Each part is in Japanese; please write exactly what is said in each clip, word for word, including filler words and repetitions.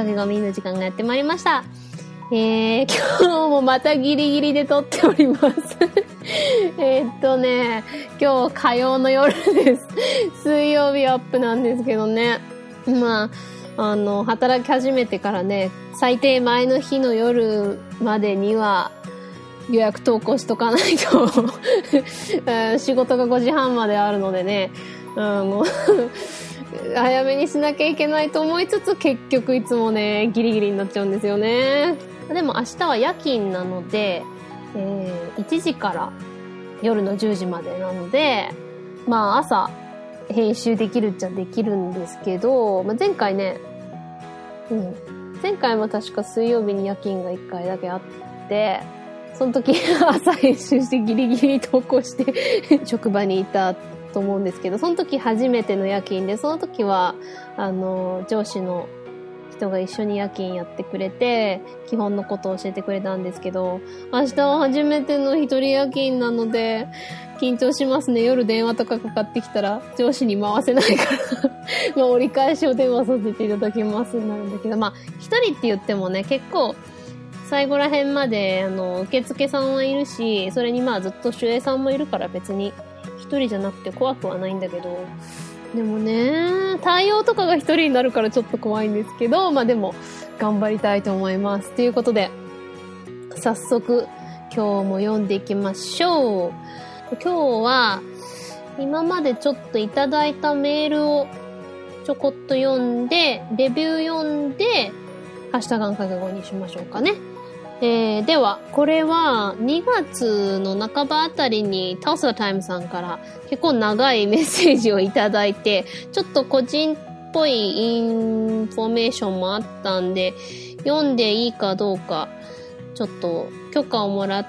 駆け込みの時間がやってまいりました。えー、今日もまたギリギリで撮っております。えっとね、今日火曜の夜です。水曜日アップなんですけどね。まあ、あの、働き始めてからね、最低前の日の夜までには予約投稿しとかないと、仕事がごじはんまであるのでね、あの、早めにしなきゃいけないと思いつつ、結局いつもね、ギリギリになっちゃうんですよね。でも明日は夜勤なので、えー、いちじから夜のじゅうじまでなので、まあ朝編集できるっちゃできるんですけど、まあ、前回ね、うん、前回も確か水曜日に夜勤がいっかいだけあって、その時朝編集してギリギリ投稿して職場にいたと思うんですけど、その時初めての夜勤で、その時はあの上司の人が一緒に夜勤やってくれて、基本のことを教えてくれたんですけど、明日は初めての一人夜勤なので、緊張しますね。夜電話とかかかってきたら、上司に回せないからまあ折り返しお電話させていただきますになるんだけど、まあ、一人って言ってもね、結構、最後ら辺まで、あの、受付さんはいるし、それにまあずっと守衛さんもいるから別に、一人じゃなくて怖くはないんだけど、でもね、対応とかが一人になるからちょっと怖いんですけど、まあでも頑張りたいと思います。ということで、早速今日も読んでいきましょう。今日は今までちょっといただいたメールをちょこっと読んで、レビュー読んで、ハッシュタグかけごにしましょうかね。えー、では、これはにがつの半ばあたりにタウスラタイムさんから結構長いメッセージをいただいて、ちょっと個人っぽいインフォメーションもあったんで、読んでいいかどうか、ちょっと許可をもらって、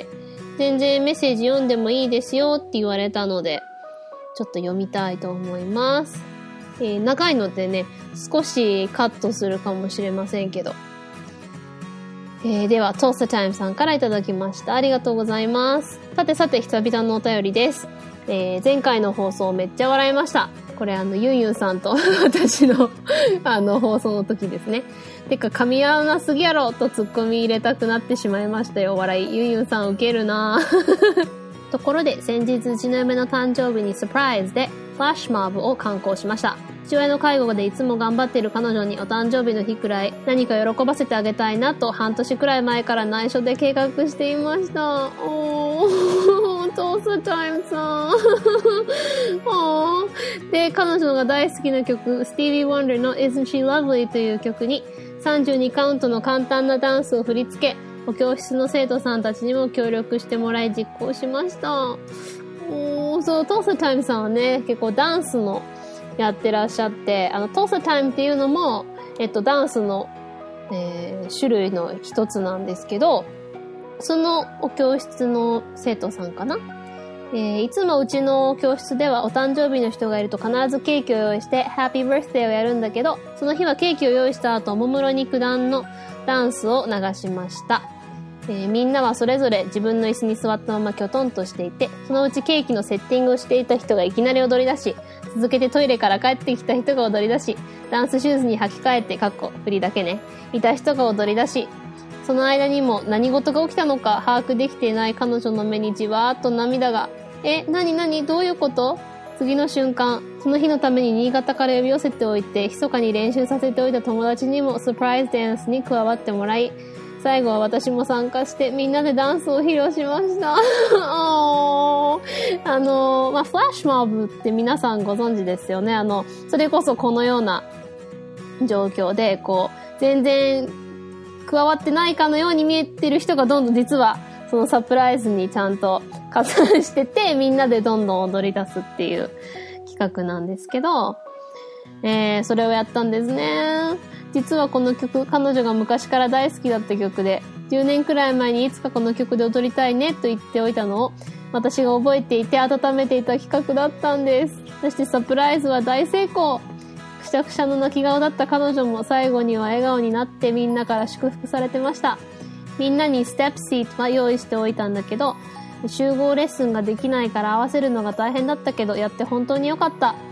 全然メッセージ読んでもいいですよって言われたので、ちょっと読みたいと思います。えー、長いのでね、少しカットするかもしれませんけど。えー、では、トースタータイムさんからいただきました。ありがとうございます。さてさて、久々のお便りです。えー、前回の放送めっちゃ笑いました。これあの、ユンユンさんと私のあの、放送の時ですね。てか、噛み合わなすぎやろとツッコミ入れたくなってしまいましたよ。笑い。ユンユンさんウケるなところで、先日うちの嫁の誕生日にサプライズで、フラッシュモブを敢行しました。父親の介護でいつも頑張っている彼女にお誕生日の日くらい何か喜ばせてあげたいなと半年くらい前から内緒で計画していました。おー、トースタイムさん。おー。で、彼女が大好きな曲、スティービー・ワンダーの Isn't She Lovely という曲にさんじゅうにカウントの簡単なダンスを振り付け、お教室の生徒さんたちにも協力してもらい実行しました。おー、そう、トースタタイムさんはね、結構ダンスのやってらっしゃって、あの、トースタタイムっていうのも、えっと、ダンスの、えー、種類の一つなんですけど、そのお教室の生徒さんかな、えー、いつもうちの教室ではお誕生日の人がいると必ずケーキを用意して、ハッピーバースデーをやるんだけど、その日はケーキを用意した後、おもむろに九段のダンスを流しました。えー、みんなはそれぞれ自分の椅子に座ったままきょとんとしていて、そのうちケーキのセッティングをしていた人がいきなり踊り出し、続けてトイレから帰ってきた人が踊り出し、ダンスシューズに履き替えて、かっこ振りだけね、いた人が踊り出し、その間にも何事が起きたのか把握できていない彼女の目にじわーっと涙が。え、なになにどういうこと？次の瞬間、その日のために新潟から呼び寄せておいて、密かに練習させておいた友達にもサプライズダンスに加わってもらい、最後は私も参加してみんなでダンスを披露しました。あの、まあ、フラッシュモブって皆さんご存知ですよね。あの、それこそこのような状況で、こう、全然加わってないかのように見えてる人がどんどん実はそのサプライズにちゃんと加算してて、みんなでどんどん踊り出すっていう企画なんですけど、えー、それをやったんですね。実はこの曲、彼女が昔から大好きだった曲で、じゅうねんくらい前にいつかこの曲で踊りたいねと言っておいたのを、私が覚えていて温めていた企画だったんです。そしてサプライズは大成功。くしゃくしゃの泣き顔だった彼女も最後には笑顔になってみんなから祝福されてました。みんなにステップシートは用意しておいたんだけど、集合レッスンができないから合わせるのが大変だったけど、やって本当に良かった。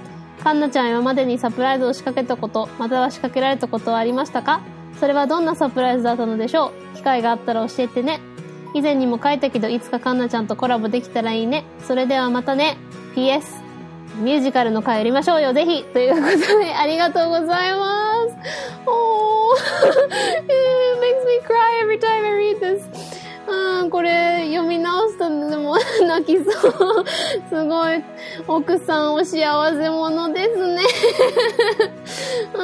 かんなちゃん今までにサプライズを仕掛けたこと、または仕掛けられたことはありましたか？それはどんなサプライズだったのでしょう？機会があったら教えてね。以前にも書いたけど、いつかかんなちゃんとコラボできたらいいね。それではまたね。ピーエス ミュージカルの回やりましょうよ、ぜひということで、ありがとうございます。Oh, it makes me cry every time I read this. うん、これ読み直すとでも泣きそう。すごい奥さんお幸せ者ですね。うん、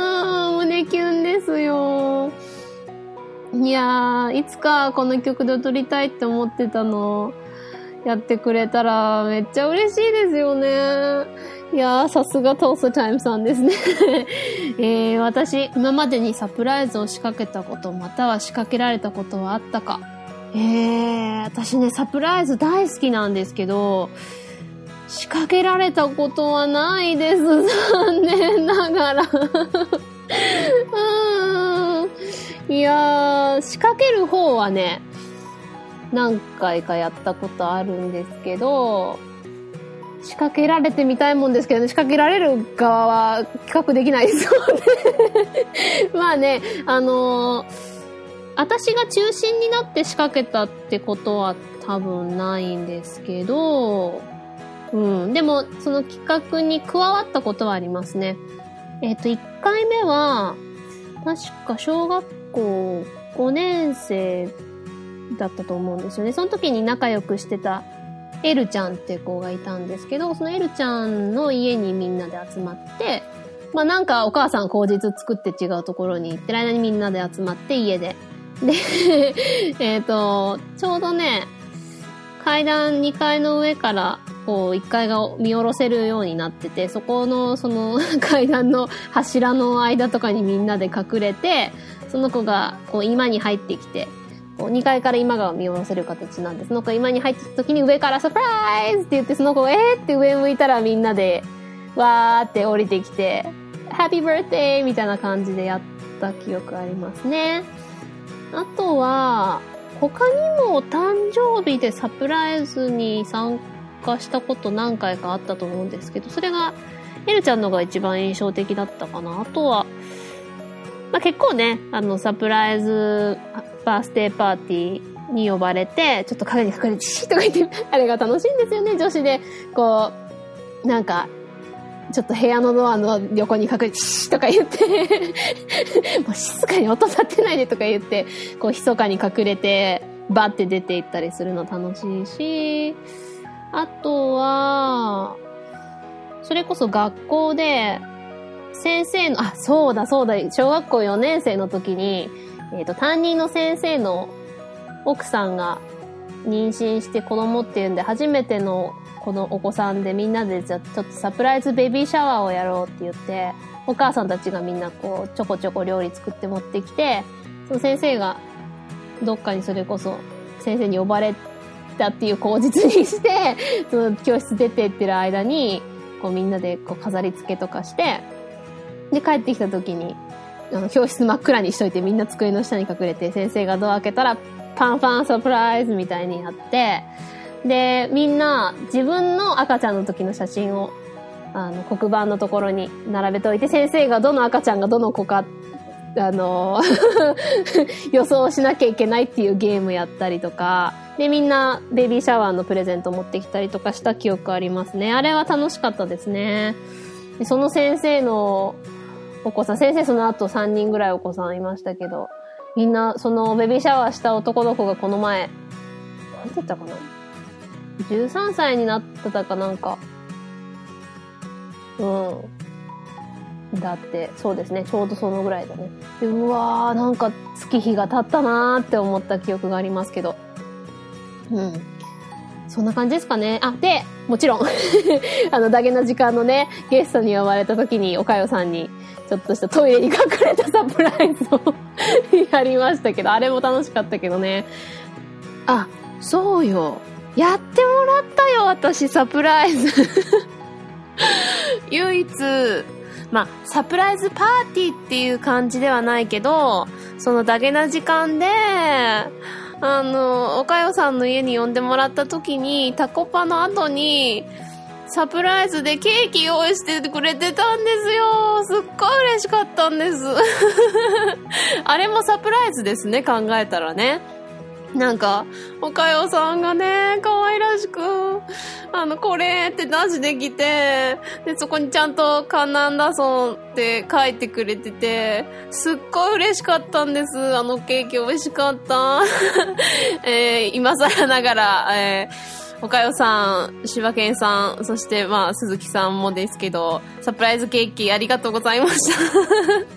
胸キュンですよ。いやー、いつかこの曲で踊りたいって思ってたのやってくれたらめっちゃ嬉しいですよね。いやー、さすがトーストタイムさんですね。えー、私、今までにサプライズを仕掛けたこと、または仕掛けられたことはあったか？えー、私ね、サプライズ大好きなんですけど、仕掛けられたことはないです。残念ながら。うーん。いやー、仕掛ける方はね、何回かやったことあるんですけど、仕掛けられてみたいもんですけどね、仕掛けられる側は企画できないですもんね。まあね、あのー、私が中心になって仕掛けたってことは多分ないんですけど、うん。でも、その企画に加わったことはありますね。えっと、いっかいめは、確か小学校ごねん生だったと思うんですよね。その時に仲良くしてたエルちゃんって子がいたんですけど、そのエルちゃんの家にみんなで集まって、まあなんかお母さん口実作って違うところに行ってる間にみんなで集まって家で。で、えっと、ちょうどね、階段にかいの上からこういっかいが見下ろせるようになってて、そこのその階段の柱の間とかにみんなで隠れて、その子がこう居間に入ってきて、こうにかいから居間が見下ろせる形なんで、その子が居間に入ってきた時に上からサプライズって言って、その子がえーって上向いたらみんなでわーって降りてきて、ハッピーバースデーみたいな感じでやった記憶ありますね。あとは、他にも誕生日でサプライズに参加したこと何回かあったと思うんですけど、それがエルちゃんのが一番印象的だったかな。あとは、まあ、結構ね、あのサプライズバースデーパーティーに呼ばれて、ちょっと影に隠れてシーとか言って、あれが楽しいんですよね、女子で。こう、なんか、ちょっと部屋のドアの横に隠れてシーとか言って、もう静かに音立てないでとか言って、こう密かに隠れて、バッて出て行ったりするの楽しいし、あとは、それこそ学校で、先生の、あ、そうだそうだ、小学校よねん生の時に、えっと、担任の先生の奥さんが妊娠して子供っていうんで、初めてのこのお子さんでみんなでじゃちょっとサプライズベビーシャワーをやろうって言って、お母さんたちがみんなこうちょこちょこ料理作って持ってきて、その先生がどっかにそれこそ先生に呼ばれたっていう口実にして、その教室出てってる間に、こうみんなでこう飾り付けとかして、で帰ってきた時に、あの教室真っ暗にしといてみんな机の下に隠れて、先生がドア開けたらパンパンサプライズみたいになって、で、みんな自分の赤ちゃんの時の写真をあの黒板のところに並べておいて、先生がどの赤ちゃんがどの子かあの予想しなきゃいけないっていうゲームやったりとかで、みんなベビーシャワーのプレゼント持ってきたりとかした記憶ありますね。あれは楽しかったですね。でその先生のお子さん、先生その後さんにんぐらいお子さんいましたけど、みんなそのベビーシャワーした男の子がこの前なんて言ったかな、じゅうさんさいになってたかなんか、うんだって、そうですね、ちょうどそのぐらいだね。でうわー、なんか月日が経ったなーって思った記憶がありますけど、うんそんな感じですかね。あ、でもちろんあのダゲな時間のねゲストに呼ばれた時におかよさんにちょっとしたトイレに隠れたサプライズをやりましたけど、あれも楽しかったけどね。あ、そうよ、やってもらったよ私サプライズ唯一まあサプライズパーティーっていう感じではないけど、そのダゲな時間であのおかよさんの家に呼んでもらった時にタコパの後にサプライズでケーキ用意してくれてたんですよ。すっごい嬉しかったんです。あれもサプライズですね、考えたらね。なんか、おかよさんがね、可愛らしく、あの、これって出してきて、で、そこにちゃんとカンナンダソンって書いてくれてて、すっごい嬉しかったんです。あのケーキ美味しかった。えー、今更ながら、えー、おかよさん、柴犬さん、そしてまあ、鈴木さんもですけど、サプライズケーキありがとうございました。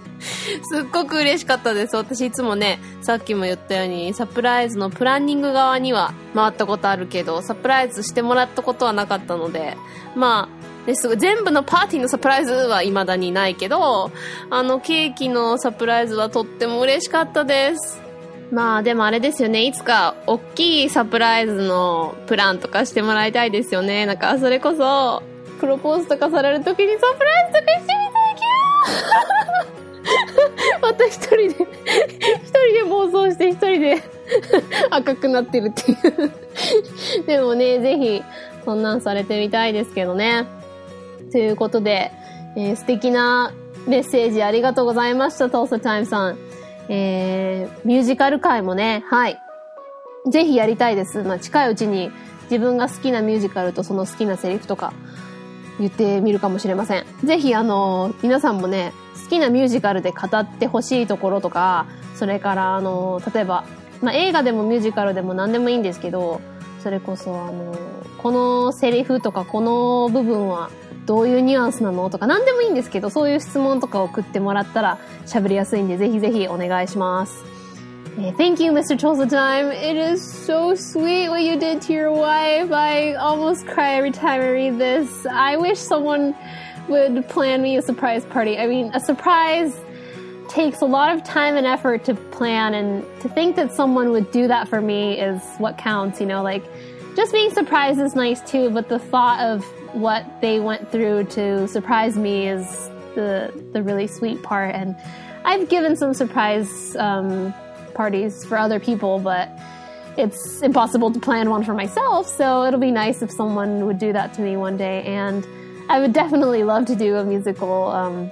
すっごく嬉しかったです。私いつもね、さっきも言ったように、サプライズのプランニング側には回ったことあるけど、サプライズしてもらったことはなかったので、まあ、ですぐ全部のパーティーのサプライズは未だにないけど、あのケーキのサプライズはとっても嬉しかったです。まあでもあれですよね、いつか大きいサプライズのプランとかしてもらいたいですよね。なんかそれこそ、プロポーズとかされるときにサプライズとかしてみたいけどまた一人で一人で妄想して一人で赤くなってるっていうでもね、ぜひそんなんされてみたいですけどね。ということで、えー、素敵なメッセージありがとうございました、トーサタイムさん。えー、ミュージカル界もね、はい、ぜひやりたいです。まあ、近いうちに自分が好きなミュージカルとその好きなセリフとか言ってみるかもしれません。ぜひあの皆さんもね、好きなミュージカルで語ってほしいところとか、それからあの例えば、まあ、映画でもミュージカルでも何でもいいんですけど、それこそあのこのセリフとかこの部分はどういうニュアンスなのとか何でもいいんですけど、そういう質問とかを送ってもらったら喋りやすいんで、ぜひぜひお願いします。Uh, thank you, Mister Tulsa-Time. It is so sweet what you did to your wife. I almost cry every time I read this. I wish someone would plan me a surprise party. I mean, a surprise takes a lot of time and effort to plan, and to think that someone would do that for me is what counts, you know, like, just being surprised is nice too, but the thought of what they went through to surprise me is the, the really sweet part. And I've given some surprise, um, parties for other people, but it's impossible to plan one for myself, so it'll be nice if someone would do that to me one day. And I would definitely love to do a musical um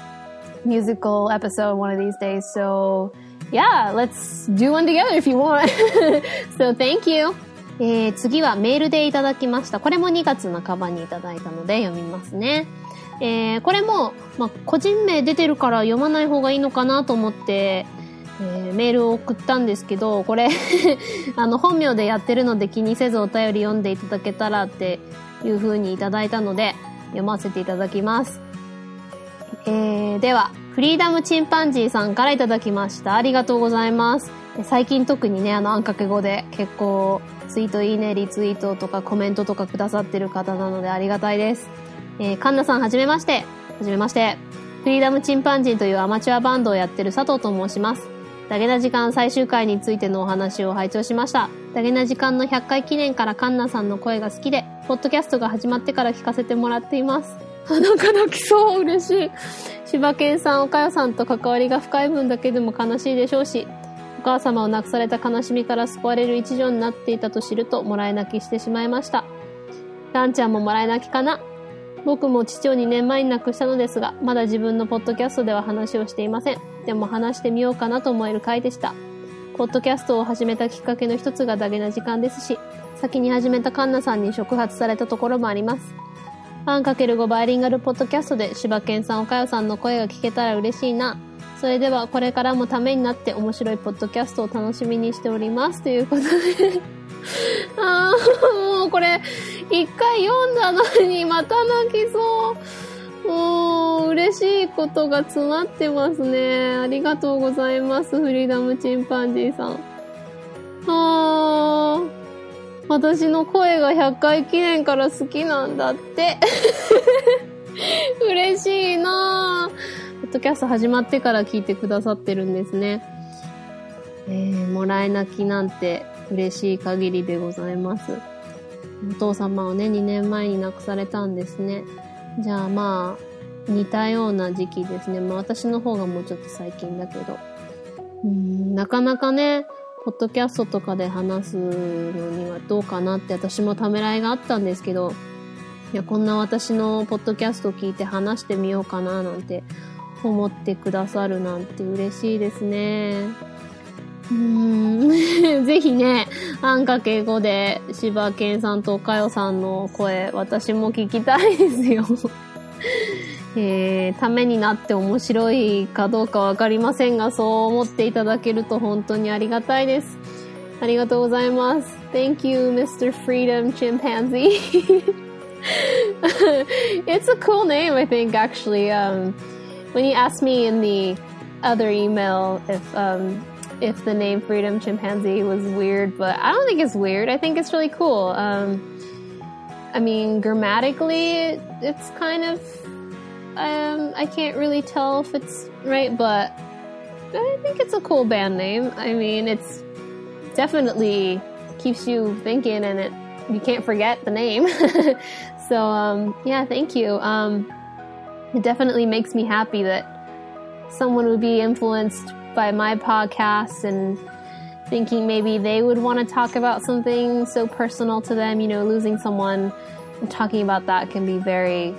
musical episode one of these days, so yeah, let's do one together if you want. So thank you. えー、次はメールでいただきました。これもにがつなかばにいただいたので読みますね。えー、これも、まあ、個人名出てるから読まない方がいいのかなと思ってえー、メールを送ったんですけど、これあの本名でやってるので気にせずお便り読んでいただけたらっていう風にいただいたので読ませていただきます。えー、ではフリーダムチンパンジーさんからいただきました。ありがとうございます。最近特にね、あのあんかけ語で結構ツイートいいね、リツイートとかコメントとかくださってる方なのでありがたいです。えー、カンナさんはじめまして。はじめまして。フリーダムチンパンジーというアマチュアバンドをやってる佐藤と申します。ダゲな時間最終回についてのお話を拝聴しました。ダゲな時間のひゃっかい記念からカンナさんの声が好きで、ポッドキャストが始まってから聞かせてもらっています。あ、なんか泣きそう。嬉しい。柴犬さん、おかよさんと関わりが深い分だけでも悲しいでしょうし、お母様を亡くされた悲しみから救われる一助になっていたと知ると、もらい泣きしてしまいました。ランちゃんももらい泣きかな。僕も父をにねんまえに亡くしたのですが、まだ自分のポッドキャストでは話をしていません。でも話してみようかなと思える回でした。ポッドキャストを始めたきっかけの一つがダゲな時間ですし、先に始めたカンナさんに触発されたところもあります。ワンかけるご バイリンガルポッドキャストで柴犬さん、おかよさんの声が聞けたら嬉しいな。それではこれからもためになって面白いポッドキャストを楽しみにしております。ということであー、もうこれ一回読んだのにまた泣きそう。もう嬉しいことが詰まってますね。ありがとうございます、フリーダムチンパンジーさん。あー、私の声がひゃっかい記念から好きなんだって嬉しいなぁ。ポッドキャスト始まってから聞いてくださってるんですね。えー、もらい泣きなんて嬉しい限りでございます。お父様をね、にねんまえに亡くされたんですね。じゃあまあ、似たような時期ですね。まあ私の方がもうちょっと最近だけど。うーん、なかなかね、ポッドキャストとかで話すのにはどうかなって私もためらいがあったんですけど、 いや、こんな私のポッドキャストを聞いて話してみようかななんて思ってくださるなんて嬉しいですね。うーんぜひね、あんかけごで柴犬さんとかよさんの声、私も聞きたいですよ。えー、ためになって面白いかどうかわかりませんが、そう思っていただけると本当にありがたいです。ありがとうございます。Thank you, Mister Freedom Chimpanzee. It's a cool name, I think, actually. Um, when you asked me in the other email if, um, if the name Freedom Chimpanzee was weird, but I don't think it's weird. I think it's really cool. Um, I mean, grammatically, it's kind of, um, I can't really tell if it's right, but I think it's a cool band name. I mean, it's definitely keeps you thinking, and it, you can't forget the name. So, um, yeah, thank you. Um, it definitely makes me happy that someone would be influenced by my podcast and thinking maybe they would want to talk about something so personal to them. You know, losing someone and talking about that can be very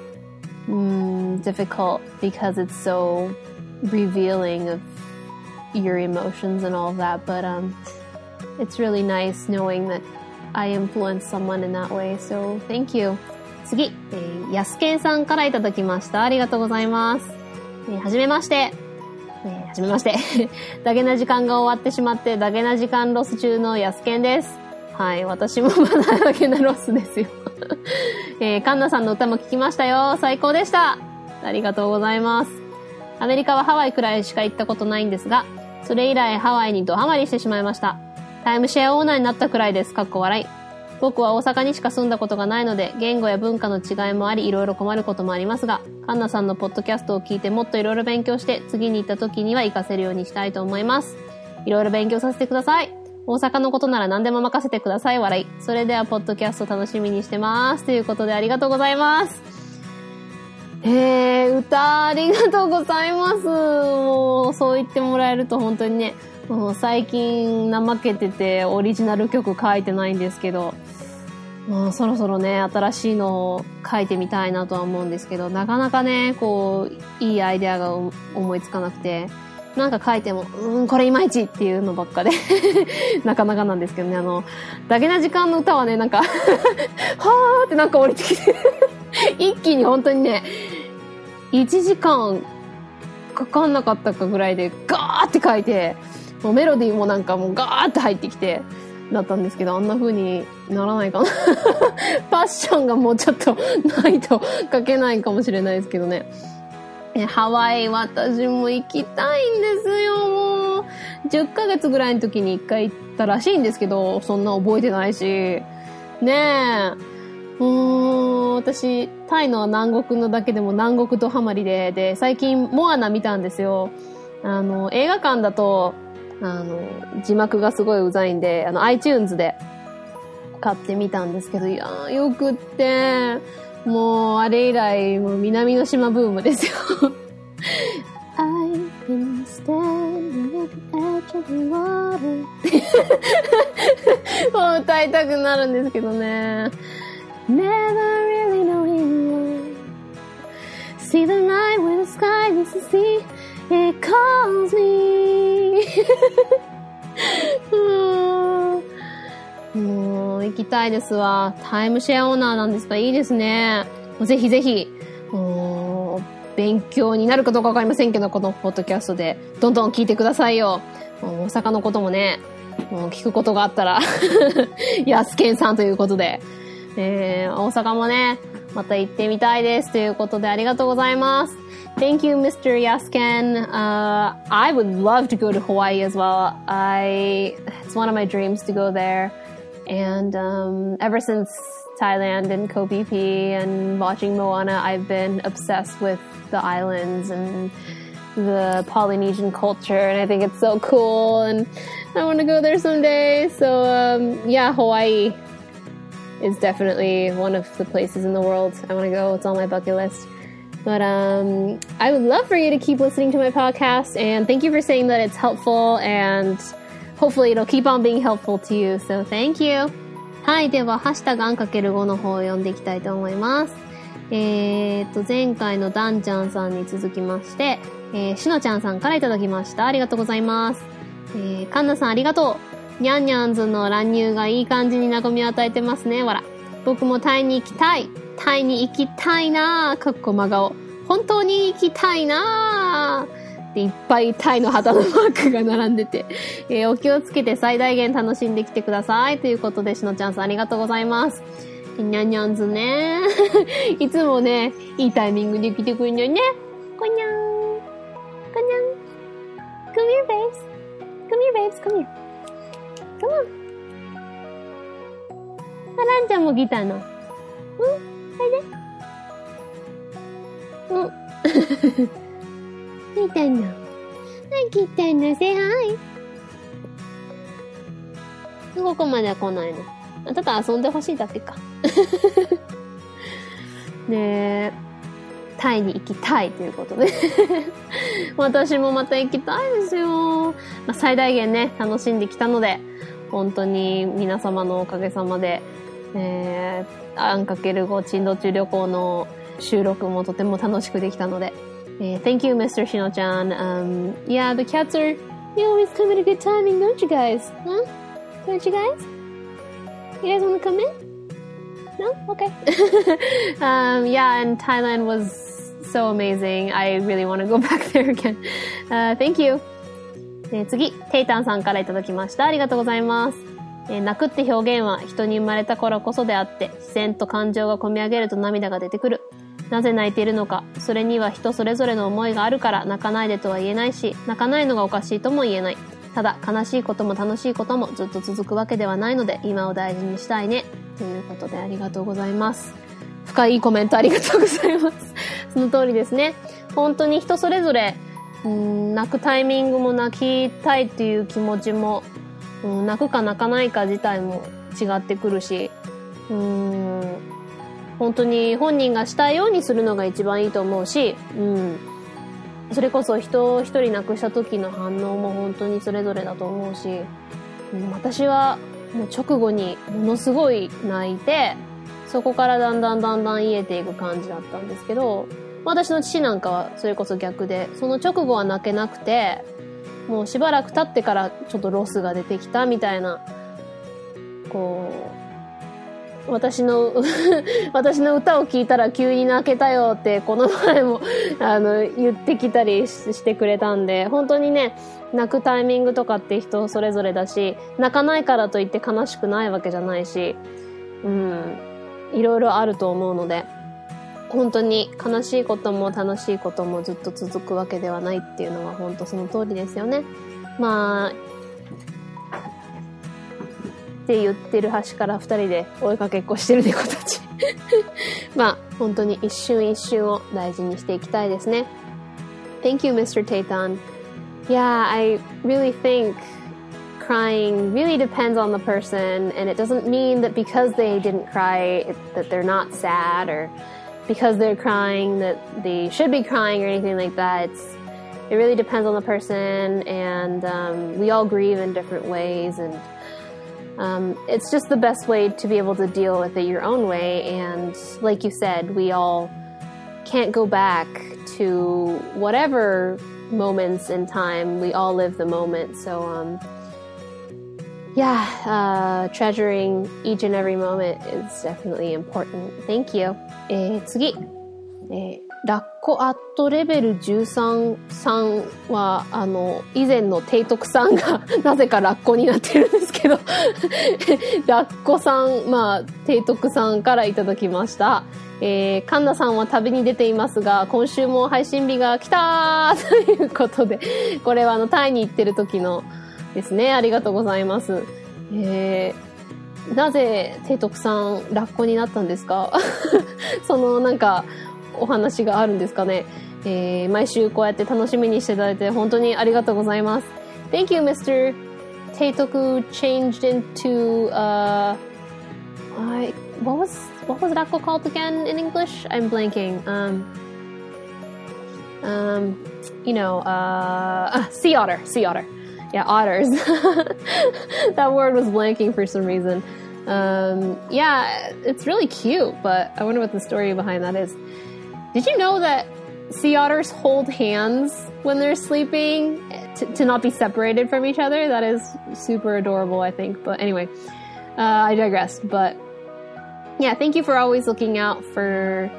mm, difficult because it's so revealing of your emotions and all of that. But um, it's really nice knowing that I influence someone in that way. So, thank you. 次、えー、やすけんさんからいただきました。ありがとうございます。えー、はじめまして。えー、はじめまして。ダゲな時間が終わってしまって、ダゲな時間ロス中のやすけんです。はい、私もまだダゲなロスですよ。えー、カンナさんの歌も聞きましたよ。最高でした。ありがとうございます。アメリカはハワイくらいしか行ったことないんですが、それ以来ハワイにドハマりしてしまいました。タイムシェアオーナーになったくらいです。かっこ笑い。僕は大阪にしか住んだことがないので、言語や文化の違いもあり、いろいろ困ることもありますが、カンナさんのポッドキャストを聞いてもっといろいろ勉強して、次に行った時には活かせるようにしたいと思います。いろいろ勉強させてください。大阪のことなら何でも任せてください。笑い。それでは、ポッドキャスト楽しみにしてます。ということで、ありがとうございます。えー、歌ありがとうございます。もう、そう言ってもらえると本当にね、もう最近怠けててオリジナル曲書いてないんですけど、もうそろそろね、新しいのを書いてみたいなとは思うんですけど、なかなかね、こう、いいアイデアが思いつかなくて、なんか書いても、うーん、これいまいちっていうのばっかで、なかなかなんですけどね、あの、だけな時間の歌はね、なんか、はーってなんか降りてきて、一気に本当にね、いちじかんかかんなかったかぐらいでガーって書いて、もうメロディーもなんかもうガーって入ってきて、だったんですけど、あんな風にならないかな。パッションがもうちょっとないと書けないかもしれないですけどね。え、ハワイ私も行きたいんですよ、もう。じゅっかげつぐらいの時にいっかい行ったらしいんですけど、そんな覚えてないし。ねえ。うーん、私、タイの南国のだけでも南国ドハマりで、で、最近モアナ見たんですよ。あの、映画館だと、あの、字幕がすごいうざいんで、あの、iTunes で買ってみたんですけど、いやー、よくって、もう、あれ以来、もう南の島ブームですよ。I've been standing at the edge of the water もう歌いたくなるんですけどね。Never really knowing See the night when the sky is the sea It calls me もう行きたいですわ。タイムシェアオーナーなんですか？いいですね。ぜひぜひもう勉強になるかどうかわかりませんけど、このポッドキャストでどんどん聞いてくださいよ。もう大阪のこともね、もう聞くことがあったらやすけんさんということで、えー、大阪もねまた行ってみたいですということで、ありがとうございます。Thank you, Mister Yasken. Uh, I would love to go to Hawaii as well. I, it's one of my dreams to go there. And um, ever since Thailand and Koh Phi Phi and watching Moana, I've been obsessed with the islands and the Polynesian culture. And I think it's so cool. And I want to go there someday. So um, yeah, Hawaii is definitely one of the places in the world I want to go. It's on my bucket list. But um, I would love for you to keep listening to my podcast, and thank you for saying that it's helpful, and hopefully it'll keep on being helpful to you. So thank you. はい、では、ハッシュタグアンかけるごの方を読んでいきたいと思います。えーと、前回のダンちゃんさんに続きまして、えー、しのちゃんさんからいただきました。ありがとうございます。えー、かんなさんありがとう。にゃんにゃんずの乱入がいい感じに和みを与えてますね。わら。僕もタイに行きたい。タイに行きたいなぁ。かっこ真顔。本当に行きたいなぁ。で、いっぱいタイの旗のマークが並んでて、えー、お気をつけて最大限楽しんできてください。ということで、しのちゃんさんありがとうございます。にゃんにゃんずね。いつもね、いいタイミングで来てくるんだよね。こにゃん。こにゃん。Come here, babes. Come here, babes. Come here. Come on. あ、ランちゃんも来たの。うん？おいで。うん。来たの。はい、来たの。Say hi. ここまでは来ないの。ただ遊んでほしいだけか。ねえ、タイに行きたいということで。私もまた行きたいですよ。まあ、最大限ね、楽しんできたので、本当に皆様のおかげさまで、えー、あんかけるご珍道中旅行の収録もとても楽しくできたので、えー、Thank you, Mister Shino-chan. Um, yeah, the cats are, you always come at a good timing, don't you guys? Huh? Don't you guys?You guys want to come in? No? Okay. um, yeah, and Thailand was so amazing. I really want to go back there again. Uh, thank you. えー、次、テイタンさんからいただきました。ありがとうございます。えー、泣くって表現は人に生まれた頃こそであって、自然と感情がこみ上げると涙が出てくる。なぜ泣いているのか、それには人それぞれの思いがあるから泣かないでとは言えないし、泣かないのがおかしいとも言えない。ただ、悲しいことも楽しいこともずっと続くわけではないので、今を大事にしたいね。ということでありがとうございます。深いコメントありがとうございます。その通りですね。本当に人それぞれ、うーん、泣くタイミングも泣きたいっていう気持ちも、うん、泣くか泣かないか自体も違ってくるし、うーん、本当に本人がしたいようにするのが一番いいと思うし、うん。それこそ人を一人亡くした時の反応も本当にそれぞれだと思うし、私はもう直後にものすごい泣いて、そこからだんだんだんだん癒えていく感じだったんですけど、私の父なんかはそれこそ逆で、その直後は泣けなくて、もうしばらく経ってからちょっとロスが出てきたみたいな、こう、私の私の歌を聴いたら急に泣けたよってこの前もあの言ってきたりしてくれたんで、本当にね、泣くタイミングとかって人それぞれだし、泣かないからといって悲しくないわけじゃないし、うん、いろいろあると思うので、本当に悲しいことも楽しいこともずっと続くわけではないっていうのは本当その通りですよね。まあって言ってる端から二人で追いかけっこしてる猫たち。まあ、本当に一瞬一瞬を大事にしていきたいですね。Thank you, Mister Teitan. Yeah, I really think crying really depends on the person, and it doesn't mean that because they didn't cry it, that they're not sad, or because they're crying that they should be crying or anything like that. It's, it really depends on the person, and um, we all grieve in different ways, and Um, it's just the best way to be able to deal with it your own way. And like you said, we all can't go back to whatever moments in time. We all live the moment. So, um, yeah, uh, treasuring each and every moment is definitely important. Thank you. えー、次。えーラッコアットレベルじゅうさんさんは、あの、以前の提督さんがなぜかラッコになってるんですけど、ラッコさん、まあ、提督さんからいただきました。えー、カンナさんは旅に出ていますが、今週も配信日が来たーということで、これはあの、タイに行ってる時のですね、ありがとうございます。えー、なぜ提督さん、ラッコになったんですか？その、なんか、お話があるんですかね。えー、毎週こうやって楽しみにしていただいて本当にありがとうございます。Thank you, Mister Teitoku changed into, uh, I, what was, what was Rakko called again in English? I'm blanking. Um, um, you know, uh, uh, sea otter, sea otter. Yeah, otters. That word was blanking for some reason. Um, yeah, it's really cute, but I wonder what the story behind that is. Did you know that sea otters hold hands when they're sleeping to, to not be separated from each other? That is super adorable, I think. But anyway, uh, I digress. But yeah, thank you for always looking out for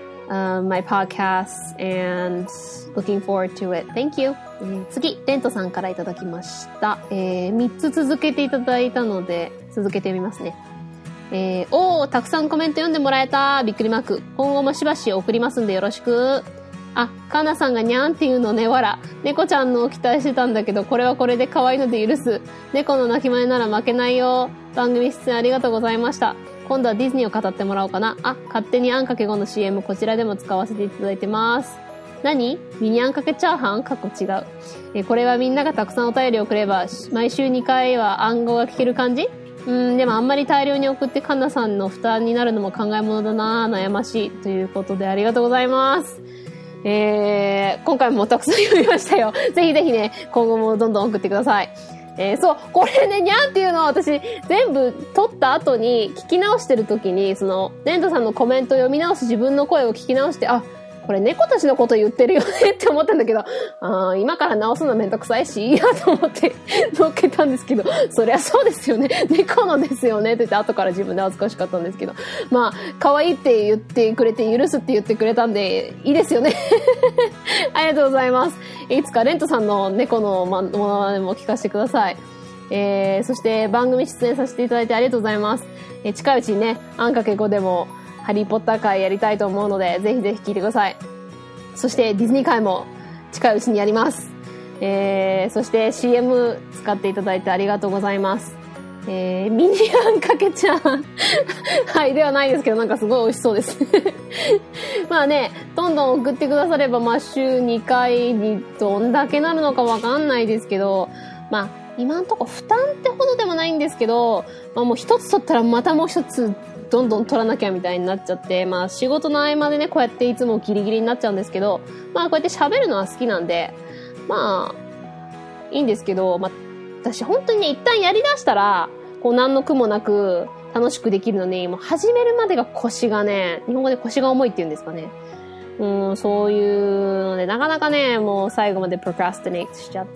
um, my podcasts and looking forward to it. Thank you. 次、レントさんからいただきました。えー、みっつ続けていただいたので、続けてみますね。えー、おー、たくさんコメント読んでもらえた。びっくりマーク。今後もしばし送りますんでよろしく。あ、カナさんがにゃんっていうのね、わら。猫ちゃんのを期待してたんだけど、これはこれで可愛いので許す。猫の鳴き真似なら負けないよ。番組出演ありがとうございました。今度はディズニーを語ってもらおうかな。あ、勝手にあんかけごの シーエム こちらでも使わせていただいてます。何？ミニあんかけチャーハン？過去違う。え、これはみんながたくさんお便りをくれば、毎週にかいは暗号が聞ける感じ？うん、でもあんまり大量に送ってカンナさんの負担になるのも考え物だな、悩ましい。ということでありがとうございます。えー、今回もたくさん読みましたよ。ぜひぜひね、今後もどんどん送ってください。えー、そう、これね、にゃんっていうのは私、全部撮った後に聞き直してる時に、その、レントさんのコメントを読み直し、自分の声を聞き直して、あ、これ猫たちのこと言ってるよねって思ったんだけど、あー、今から直すのめんどくさいし、いいやと思って乗っけたんですけど、そりゃそうですよね。猫のですよねって言って後から自分で恥ずかしかったんですけど、まあ、可愛いって言ってくれて、許すって言ってくれたんで、いいですよね。ありがとうございます。いつかレントさんの猫のものまねも聞かせてください。えー、そして番組出演させていただいてありがとうございます。えー、近いうちにね、あんかけごでも、ハリーポッター会やりたいと思うので、ぜひぜひ聞いてください。そしてディズニー会も近いうちにやります。えー、そして シーエム 使っていただいてありがとうございます。えー、ミニあんかけちゃん。はい、ではないですけど、なんかすごい美味しそうです。まあね、どんどん送ってくだされば、まあ週にかいにどんだけなるのかわかんないですけど、まあ今んとこ負担ってほどでもないんですけど、まあもう一つ取ったらまたもう一つどんどん取らなきゃみたいになっちゃって、まあ仕事の合間でね、こうやっていつもギリギリになっちゃうんですけど、まあこうやって喋るのは好きなんで、まあ、いいんですけど、まあ私本当にね、一旦やり出したら、こう何の苦もなく楽しくできるのに、もう始めるまでが腰がね、日本語で腰が重いって言うんですかね。うん、そういうので、なかなかね、もう最後までプロクラスティネイトしちゃって、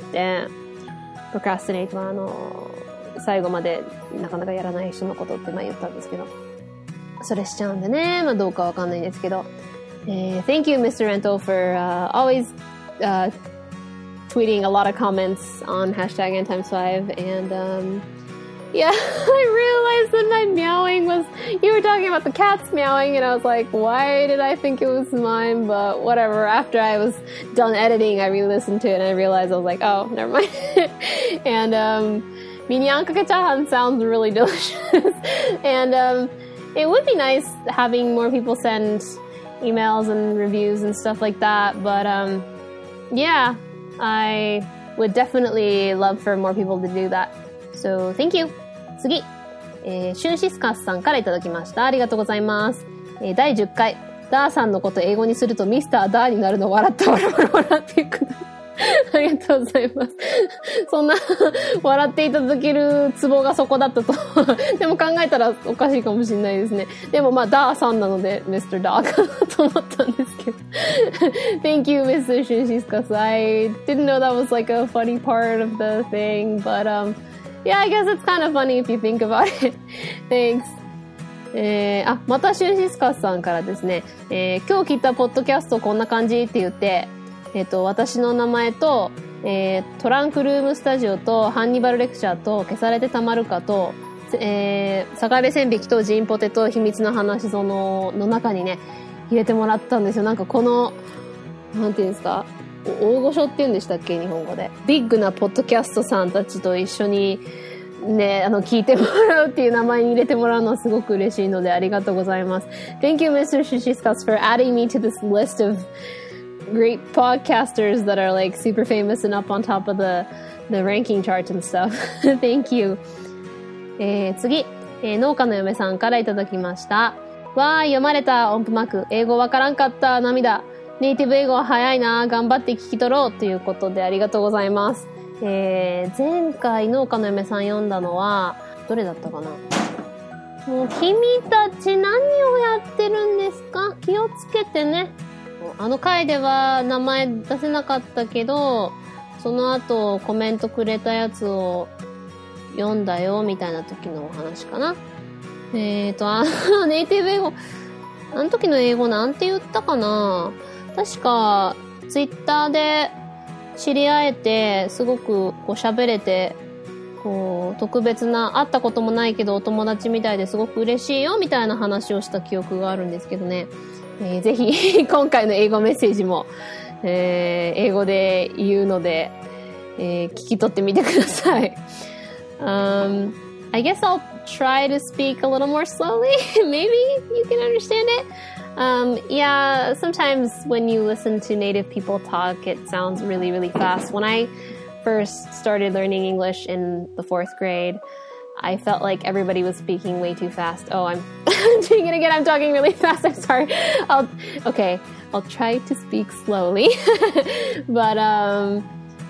プロクラスティネイトはあの、最後までなかなかやらない人のことってまあ言ったんですけど、それしちゃうんでね、まあどうかわかんないんですけど、えー、Thank you, Mister Rento, for、uh, always、uh, tweeting a lot of comments on hashtag N times five, and um, yeah, I realized that my meowing was, you were talking about the cats meowing, and I was like, why did I think it was mine? But whatever, after I was done editing, I re-listened to it, and I realized I was like, oh, never mind. And um, mini ankake chahan sounds really delicious. And um, it would be nice having more people send emails and reviews and stuff like that, but um, yeah, I would definitely love for more people to do that. So, thank you. 次、えー、シュンシスカスさんからいただきました。ありがとうございます。えー、だいじゅっかい、ダーさんのこと英語にするとミスターダーになるの笑った笑った笑っていく。ありがとうございます。そんな、笑っていただけるツボがそこだったと。でも考えたらおかしいかもしれないですね。でもまあ、ダーさんなので、ミスターダーかなと思ったんですけど。Thank you, Mister Shunshiskas. I didn't know that was like a funny part of the thing, but um, yeah, I guess it's kind of funny if you think about it. Thanks. えー、あ、またシュンシスカスさんからですね、えー、今日聞いたポッドキャストこんな感じって言って、えっと、私の名前と、えー、トランクルームスタジオとハンニバルレクチャーと消されてたまるかと、えー、サガレ線引きとジンポテと秘密の話そのの中にね、入れてもらったんですよ。なんかこの、なんていうんですか、大御所って言うんでしたっけ、日本語で。ビッグなポッドキャストさんたちと一緒にね、あの、聞いてもらうっていう名前に入れてもらうのはすごく嬉しいのでありがとうございます。Thank you, Mister Shishiskas, for adding me to this list of great podcasters that are like super famous and up on top of the, the ranking charts and stuff. Thank you. えー、次、えー、農家の嫁さんからいただきました。わー、読まれた音符マーク。英語わからんかった。涙。ネイティブ英語は早いな。頑張って聞き取ろう。ということでありがとうございます。えー、前回農家の嫁さん読んだのは、どれだったかな。 もう君たち何をやってるんですか？気をつけてね。あの回では名前出せなかったけど、その後コメントくれたやつを読んだよみたいな時のお話かな。えーと、あのネイティブ英語、あの時の英語なんて言ったかな？確かツイッターで知り合えて、すごくこう喋れて、こう特別な、会ったこともないけどお友達みたいですごく嬉しいよみたいな話をした記憶があるんですけどね。えー、ぜひ今回の英語メッセージも、えー、英語で言うので、えー、聞き取ってみてください。um, I guess I'll try to speak a little more slowly. Maybe you can understand it. Um, yeah, sometimes when you listen to native people talk, it sounds really, really fast. When I first started learning English in the fourth grade, I felt like everybody was speaking way too fast. Oh, I'm doing it again. I'm talking really fast. I'm sorry. I'll, okay, I'll try to speak slowly. But, um,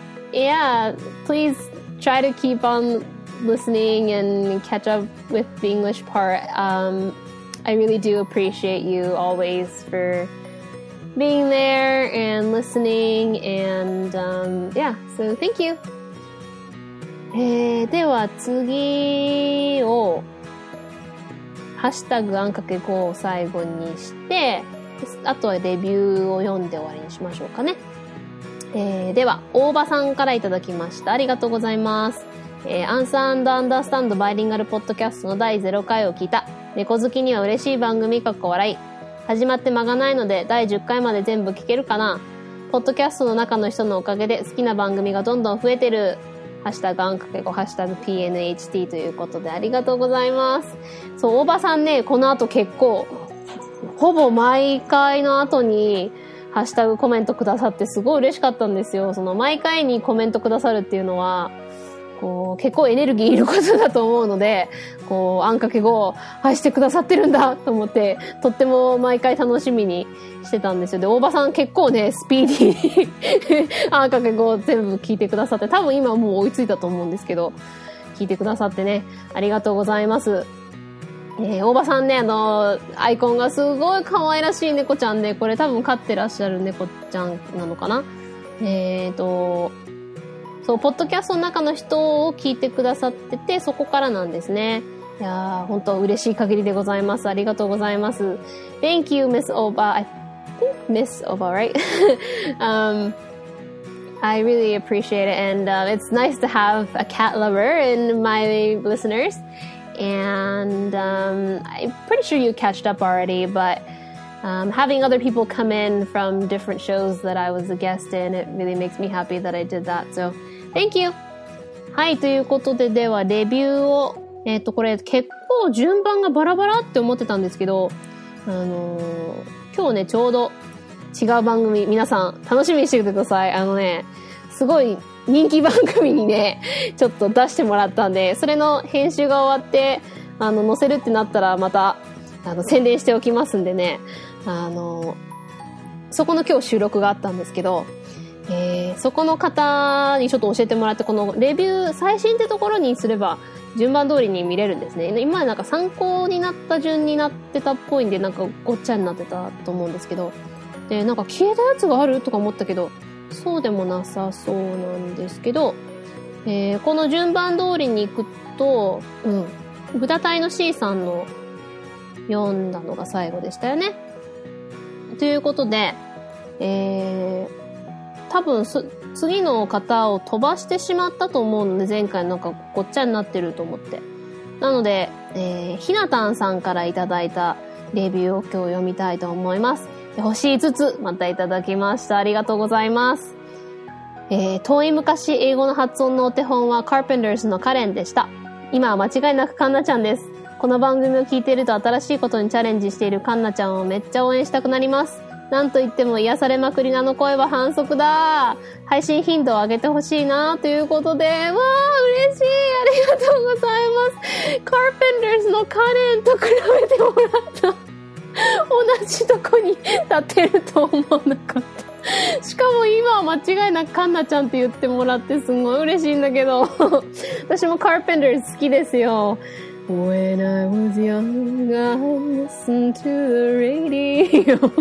yeah, please try to keep on listening and catch up with the English part. Um, I really do appreciate you always for being there and listening, and um, yeah, so thank you. えー、では次をハッシュタグあんかけごを最後にして、あとはレビューを読んで終わりにしましょうかね。えー、では大場さんからいただきました。ありがとうございます。えー、アンサー&アンダースタンドバイリンガルポッドキャストのだいゼロかいを聞いた。猫好きには嬉しい番組かっこ笑い。始まって間がないのでだいじゅっかいまで全部聞けるかな。ポッドキャストの中の人のおかげで好きな番組がどんどん増えてる。ハッシュタグあんかけご、ハッシュタグ ピーエヌエイチティー ということでありがとうございます。そう、大場さんね、この後結構、ほぼ毎回の後にハッシュタグコメントくださってすごい嬉しかったんですよ。その毎回にコメントくださるっていうのは、こう結構エネルギーいることだと思うので、こうあんかけごを愛してくださってるんだと思って、とっても毎回楽しみにしてたんですよ。で、大場さん結構ね、スピーディーにあんかけごを全部聞いてくださって、多分今もう追いついたと思うんですけど、聞いてくださってね、ありがとうございます。えー、大場さんね、あの、アイコンがすごい可愛らしい猫ちゃんで、これ多分飼ってらっしゃる猫ちゃんなのかな？えーと、そう、ポッドキャストの中の人を聞いてくださってて、そこからなんですね。いやー、本当嬉しい限りでございます。ありがとうございます。Thank you, Miss Oba. I think Miss Oba, right? um, I really appreciate it, and uh, it's nice to have a cat lover in my listeners. And um, I'm pretty sure you catched up already, but um, having other people come in from different shows that I was a guest in, it really makes me happy that I did that. So, thank you! はい、ということで、では、レビューを、えっと、これ結構順番がバラバラって思ってたんですけど、あのー、今日ね、ちょうど違う番組、皆さん楽しみにしててください。あのね、すごい人気番組にね、ちょっと出してもらったんで、それの編集が終わって、あの、載せるってなったらまた、あの、宣伝しておきますんでね、あの、そこの今日収録があったんですけど、えー、そこの方にちょっと教えてもらって、このレビュー、最新ってところにすれば、順番通りに見れるんですね。今までなんか参考になった順になってたっぽいんで、なんかごっちゃになってたと思うんですけど、で、なんか消えたやつがあるとか思ったけど、そうでもなさそうなんですけど、えー、この順番通りに行くと、うん、ブタ隊の C さんの読んだのが最後でしたよね。ということで、えー、多分す次の方を飛ばしてしまったと思うので、前回なんかごっちゃになってると思って。なので、えー、ひなたんさんからいただいたレビューを今日読みたいと思います。星いつつまたいただきました。ありがとうございます。えー、遠い昔英語の発音のお手本は Carpenters のカレンでした。今は間違いなくカンナちゃんです。この番組を聞いていると新しいことにチャレンジしているカンナちゃんをめっちゃ応援したくなります。なんといっても癒されまくりなあの声は反則だ。配信頻度を上げてほしいなということで、わー嬉しい、ありがとうございます。Carpenters のカレンと比べてもらった。同じとこに立ってると思わなかった。しかも今は間違いなくカンナちゃんって言ってもらってすごい嬉しいんだけど私も Carpenters 好きですよ。 When I was young, I listened to the radio.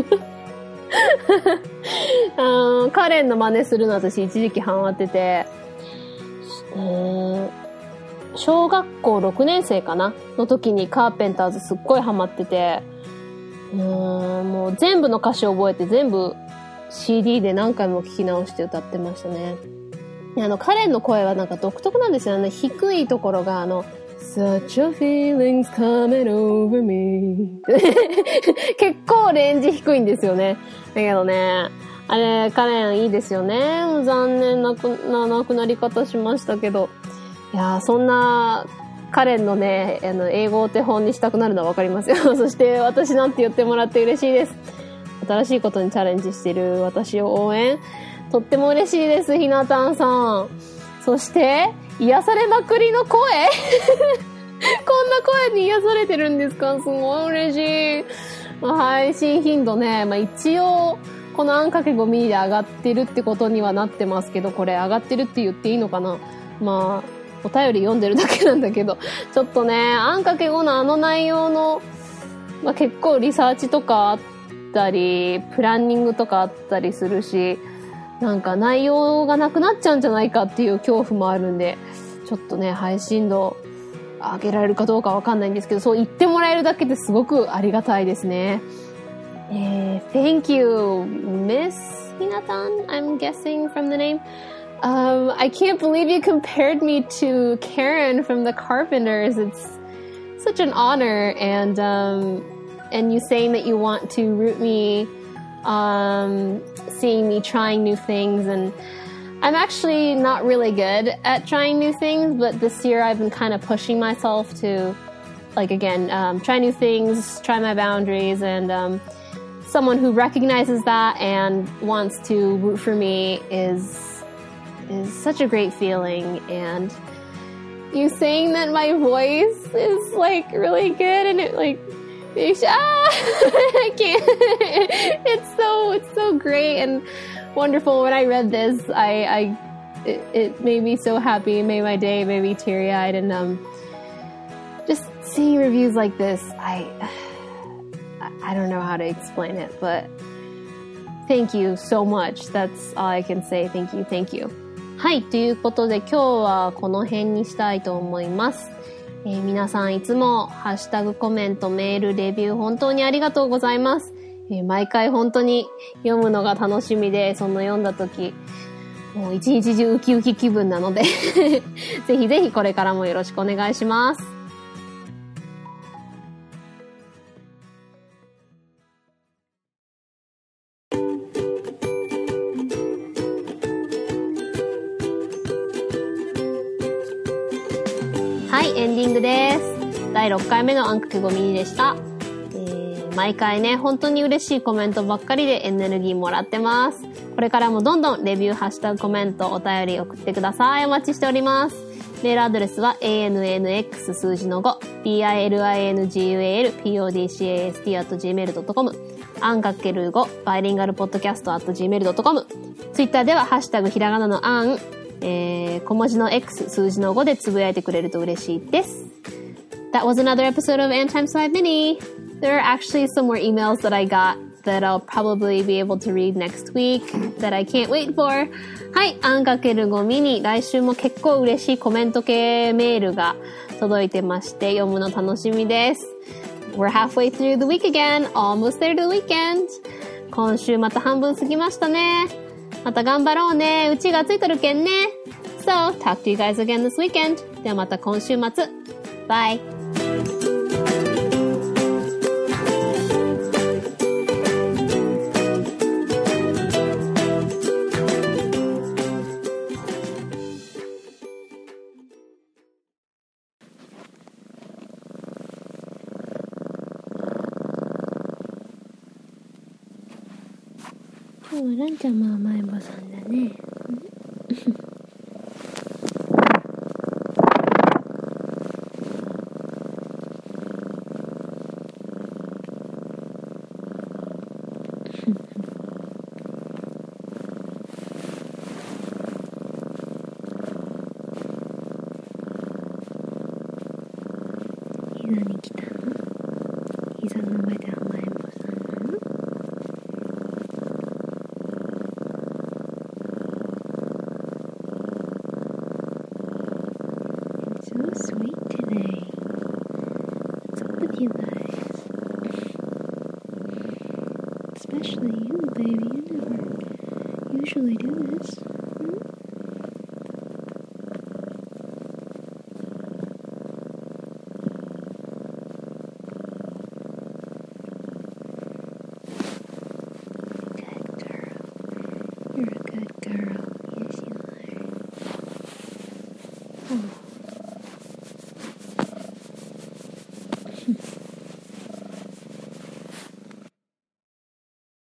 あのカレンの真似するの私一時期ハマってて、えー、小学校ろくねん生かなの時にカーペンターズすっごいハマってて、うーんもう全部の歌詞を覚えて全部 シーディー で何回も聴き直して歌ってましたね。あのカレンの声はなんか独特なんですよね。低いところがあのSuch a feeling's coming over me 結構レンジ低いんですよね。だけどね、あれカレンいいですよね。もう残念なくな亡くなり方しましたけど、いやーそんなカレンのねあの英語を手本にしたくなるのはわかりますよ。そして私なんて言ってもらって嬉しいです。新しいことにチャレンジしている私を応援とっても嬉しいです。ひなたんさん。そして癒されまくりの声こんな声に癒されてるんですか？すごい嬉しい。配信頻度ね、まあ、一応このあんかけごミリで上がってるってことにはなってますけど、これ上がってるって言っていいのかな。まあお便り読んでるだけなんだけど、ちょっとねあんかけごのあの内容の、まあ、結構リサーチとかあったりプランニングとかあったりするし、なんか内容がなくなっちゃうんじゃないかっていう恐怖もあるんで、ちょっとね配信度上げられるかどうかわかんないんですけど、そう言ってもらえるだけですごくありがたいですね。えー、Thank you, Miss Hinatan, I'm guessing from the name. Um, I can't believe you compared me to Karen from the Carpenters. It's such an honor, and um, and you saying that you want to root me, um, seeing me trying new things, and I'm actually not really good at trying new things, but this year I've been kind of pushing myself to, like, again, um, try new things, try my boundaries, and um, someone who recognizes that and wants to root for me is is such a great feeling. And you saying that my voice is, like, really good, and it, like, it's, ah, I can't. It's so, it's so great and wonderful. When I read this, I, I it, it made me so happy. It made my day. It made me teary-eyed. And um, just seeing reviews like this, I I don't know how to explain it, but thank you so much. That's all I can say. Thank you, thank you. はい、ということで今日はこの辺にしたいと思います。えー、皆さんいつもハッシュタグコメント、メール、レビュー本当にありがとうございます。えー、毎回本当に読むのが楽しみで、その読んだ時もう一日中ウキウキ気分なのでぜひぜひこれからもよろしくお願いします。はい、エンディングです。だいろっかいめのあんかけごミニでした。毎回ね、本当に嬉しいコメントばっかりでエネルギーもらってます。これからもどんどんレビュー、ハッシュタグ、コメント、お便り送ってください。お待ちしております。メールアドレスは エーエヌエヌエックス 数字の ご ピーアイエルアイエヌジーユーエーエル ピーオーディーシーエーエスティー アット ジーメール ドットコム あんかけるごバイリンガルポッドキャスト アット ジーメール ドットコム ツイッターではハッシュタグひらがなのあん、えー、小文字の X 数字のごでつぶやいてくれると嬉しいです。That was another episode of Ann Times five Mini.There are actually some more emails that I got that I'll probably be able to read next week that I can't wait for. はい、あんかけるごミニ、来週も結構嬉しいコメント系メールが届いてまして、読むの楽しみです。We're halfway through the week again, almost there to the weekend. 今週また半分過ぎましたね。また頑張ろうね。うちがついとるけんね。So, talk to you guys again this weekend. ではまた今週末。Bye.今日はランちゃんも甘えん坊さんだね。 膝に来たの？膝の上で甘えん坊さんなの？It's so sweet today. What's up with you guys? Especially you, baby. You never usually do this. Hmm? Good girl. You're a good girl. Yes, you are. Oh.